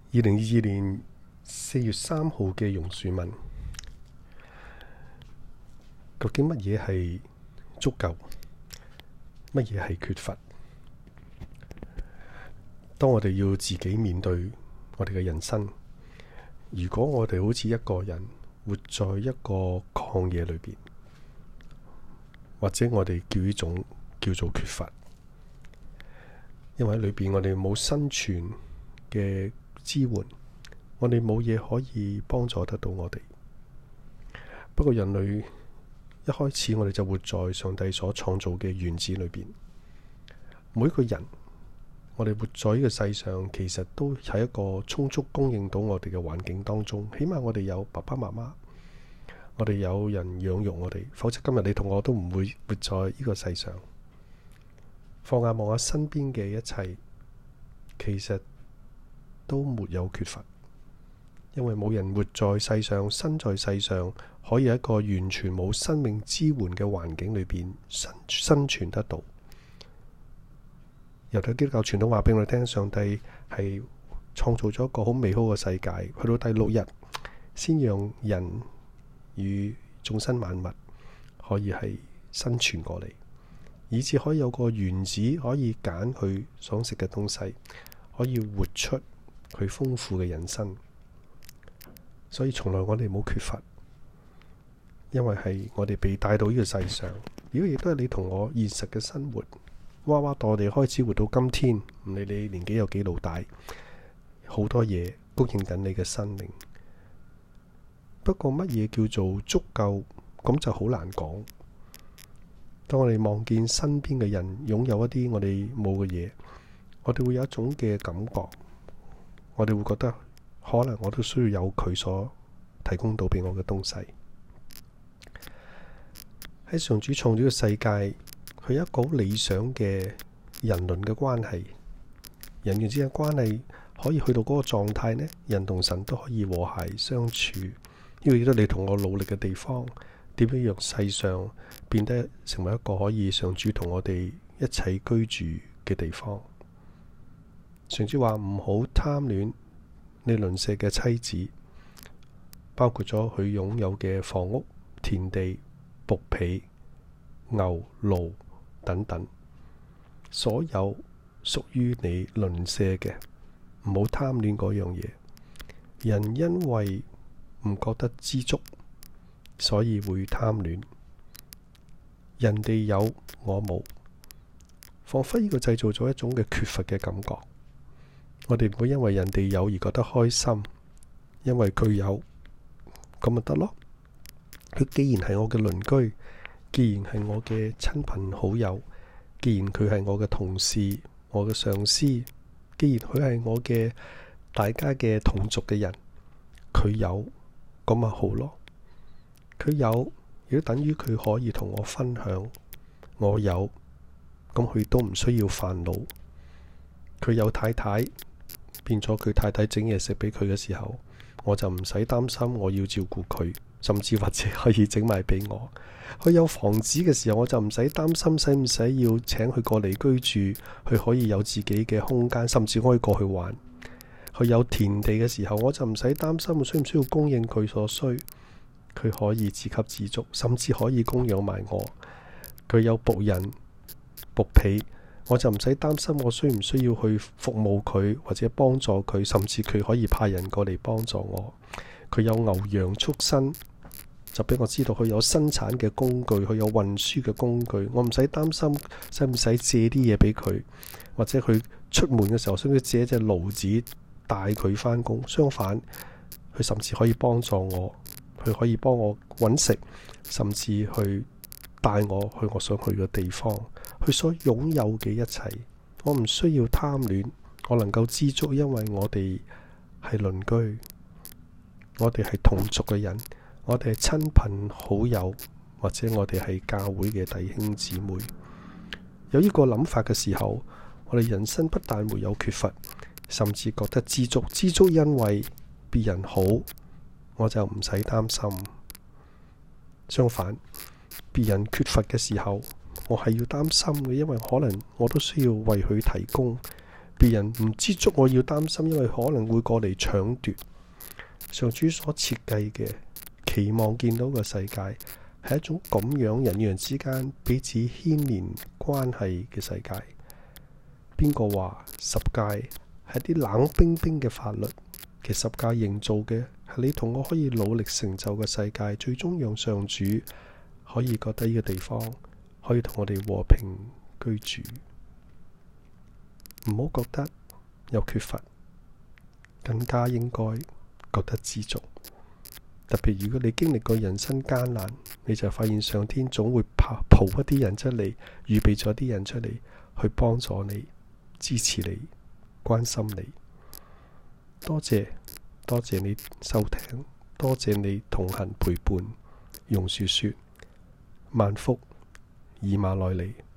2022年4月3號嘅榕樹文，究竟乜嘢係足夠？乜嘢係缺乏？當我哋要自己面對我哋嘅人生，如果我哋好似一個人活在一個曠野裏邊，或者我哋叫呢種叫做缺乏，因為喺裏邊我哋冇生存嘅支援，我哋冇嘢可以幫助得到我哋。不過人類一開始我哋就活在上帝所創造嘅園子裏邊，每一個人我哋活在呢個世上，其實都喺一個充足供應到我哋嘅環境當中。起碼我哋有爸爸媽媽，我哋有人養育我哋，否則今日你同我都唔會活在呢個世上。放眼望下身邊嘅一切，其實都沒有缺乏，因為冇人活在世上，身在世上，可以喺一個完全冇生命支援嘅環境裏邊生存得到。猶太基督教傳統話俾我哋聽，上帝係創造咗一個好美好嘅世界，去到第6日先讓人與眾生萬物可以係生存過嚟，以至可以有個園子可以揀佢想食嘅東西，可以活出佢豐富嘅人生。所以從來我哋冇缺乏，因為係我哋被帶到呢個世上。如果亦都係你同我現實嘅生活，娃娃到我哋開始活到今天，唔理你年紀有幾老大，好多嘢供應緊你嘅生命。不過乜嘢叫做足夠，咁就好難講。當我哋望見身邊嘅人擁有一啲我哋冇嘅嘢，我哋會有一種嘅感覺，我哋會覺得可能我都需要有佢所提供到俾我嘅東西。喺上主創造嘅世界，佢有一個好理想嘅人倫嘅關係，人與之間關係可以去到嗰個狀態呢，人同神都可以和諧相處。呢個亦都你同我努力嘅地方，點樣讓世上變得成為一個可以上主同我哋一齊居住嘅地方。上主話唔好貪戀你鄰舍嘅妻子，包括咗佢擁有嘅房屋、田地、僕婢、牛、驢等等，所有屬於你鄰舍嘅，唔好貪戀嗰樣嘢。人因為唔覺得知足，所以會貪戀。人哋有我冇，彷彿呢個製造咗一種嘅缺乏嘅感覺。我哋唔會因為人哋有而覺得開心，因為佢有咁咪得咯。佢既然係我嘅鄰居，既然係我嘅親朋好友，既然佢係我嘅同事、我嘅上司，既然佢係我嘅大家嘅同族嘅人，佢有咁咪好咯。佢有亦都等於佢可以同我分享。我有咁佢都唔需要煩惱。佢有太太，變咗佢太太整嘢食俾佢嘅時候，我就唔使擔心我要照顧佢，甚至或者可以整埋俾我。佢有房子嘅時候，我就唔使擔心使唔使要請佢過嚟居住，佢可以有自己嘅空間，甚至可以過去玩。佢有田地嘅時候，我就唔使擔心我需唔需要供應佢所需，佢可以自給自足，甚至可以供養埋我。佢有僕人、僕婢，我就唔使擔心我需唔需要去服務佢或者幫助佢，甚至佢可以派人過嚟幫助我。佢有牛羊畜生，就俾我知道佢有生產嘅工具，佢有運輸嘅工具，我唔使擔心使唔使借啲嘢俾佢，或者佢出門嘅時候需唔需要借一隻驢子帶佢返工。相反，佢甚至可以幫助我，佢可以幫我搵食，甚至去帶我去我想去嘅地方。佢所擁有嘅一切，我唔需要貪戀，我能夠知足，因為我哋係鄰居，我哋係同族嘅人，我哋係親朋好友，或者我哋係教會嘅弟兄姊妹。有呢個諗法嘅時候，我哋人生不但沒有缺乏，甚至覺得知足。知足因為別人好，我就唔使擔心。相反，別人缺乏嘅時候，我係要擔心嘅，因為可能我都需要為佢提供。 別人唔知足，我要擔心，因為可能會過嚟搶奪。上主所設計嘅，期望見到嘅世界係一種咁樣人與人之間彼此牽連關係嘅世界。邊個話十誡係啲冷冰冰嘅法律？其實十誡營造嘅係你同我可以努力成就嘅世界，最終讓上主可以覺得呢個地方可以同我哋和平居住。唔好覺得有缺乏，更加應該覺得知足。特別如果你經歷過人生艱難，你就發現上天總會抱一啲人出嚟，預備咗啲人出嚟去幫助你、支持你、關心你。多謝你收聽，多謝你同行陪伴。榕樹說：萬福以馬內利。